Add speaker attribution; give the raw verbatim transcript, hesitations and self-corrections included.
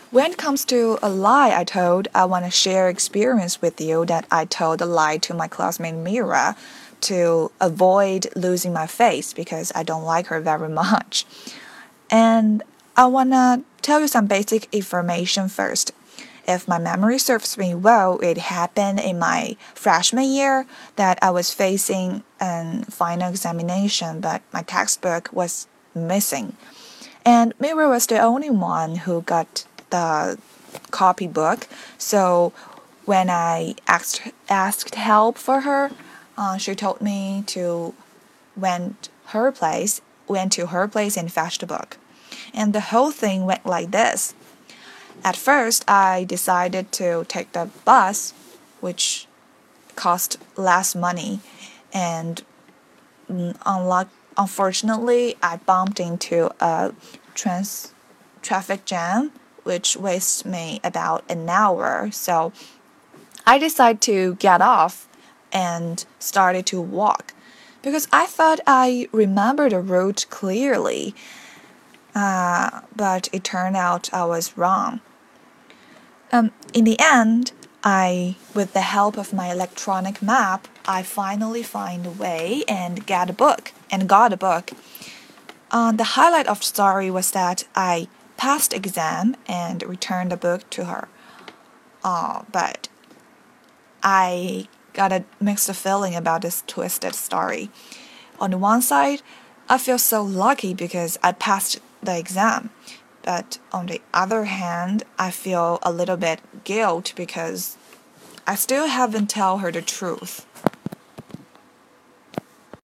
Speaker 1: When it comes to a lie I told, I want to share experience with you that I told a lie to my classmate Mira to avoid losing my face because I don't like her very much. And I want to tell you some basic information first. If my memory serves me well, it happened in my freshman year that I was facing a final examination, but my textbook was missing. And Mira was the only one who got the copybook. So when I asked asked help for her, uh, she told me to went her place, went to her place and fetched the book. And the whole thing went like this. At first, I decided to take the bus, which cost less money, and unluck unfortunately, I bumped into a trans traffic jam, which wasted me about an hour. So I decided to get off and started to walk because I thought I remembered the route clearly. Uh, but it turned out I was wrong. Um, in the end, I, with the help of my electronic map, I finally find a way and get a book and got a book. Uh, the highlight of the story was that I passed exam and returned the book to her. Uh, but I got a mixed feeling about this twisted story. On the one side, I feel so lucky because I passed the exam. But on the other hand, I feel a little bit guilt because I still haven't told her the truth.